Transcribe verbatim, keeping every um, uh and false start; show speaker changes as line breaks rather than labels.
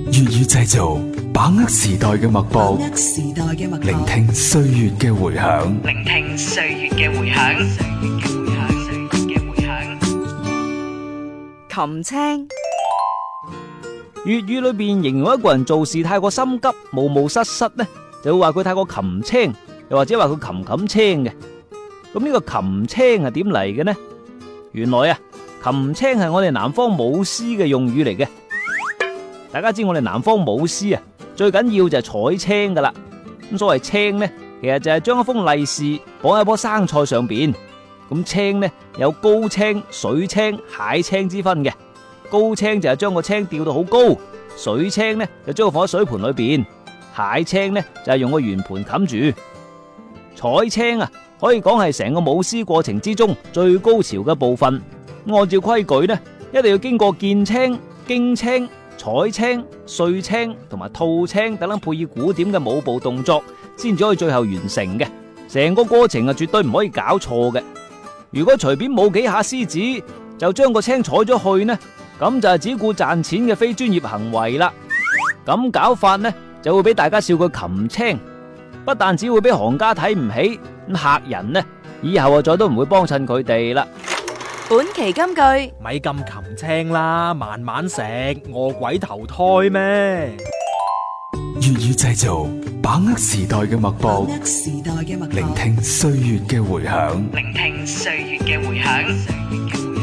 粵語製造，把握時代嘅脈搏，
時代嘅脈搏，
聆聽歲月嘅回響。
聆聽歲月嘅回響。歲月嘅回響，歲月嘅回響。琴青，
粵語裏邊形容一個人做事太過心急、冒冒失失呢，就會話佢太過擒青，又或者話佢擒擒青嘅。咁呢個擒青係點嚟嘅呢？原來啊，擒青係我哋南方舞獅嘅用語嚟嘅。大家知我哋南方舞獅啊，最緊要就係採青噶啦。咁所謂青呢，其實就係將一封利是綁喺棵生菜上邊。咁青呢，有高青、水青、蟹青之分嘅。高青就係將個青吊到好高，水青呢就將佢放喺水盤裏邊，蟹青呢就係用個圓盤冚住。採青啊，可以講係成個舞獅過程之中最高潮嘅部分。按照規矩呢，一定要經過見青、驚青、採青、碎青同埋吐青等等配以古典嘅舞步動作，先至可以最後完成嘅。成個過程啊，絕對唔可以搞錯嘅。如果隨便舞幾下獅子就將個青採咗去呢，咁就係只顧賺錢嘅非專業行為啦。咁搞法呢，就會俾大家笑佢擒青，不但只會俾行家睇唔起，咁客人呢，以後啊再都唔會幫襯佢哋啦。
本期金句，
咪咁擒青啦，慢慢食，餓鬼投胎咩？
粵語製造，把握時代嘅脈搏，
把握時代嘅脈搏，
聆聽歲月嘅回響。
聆聽歲月嘅回響。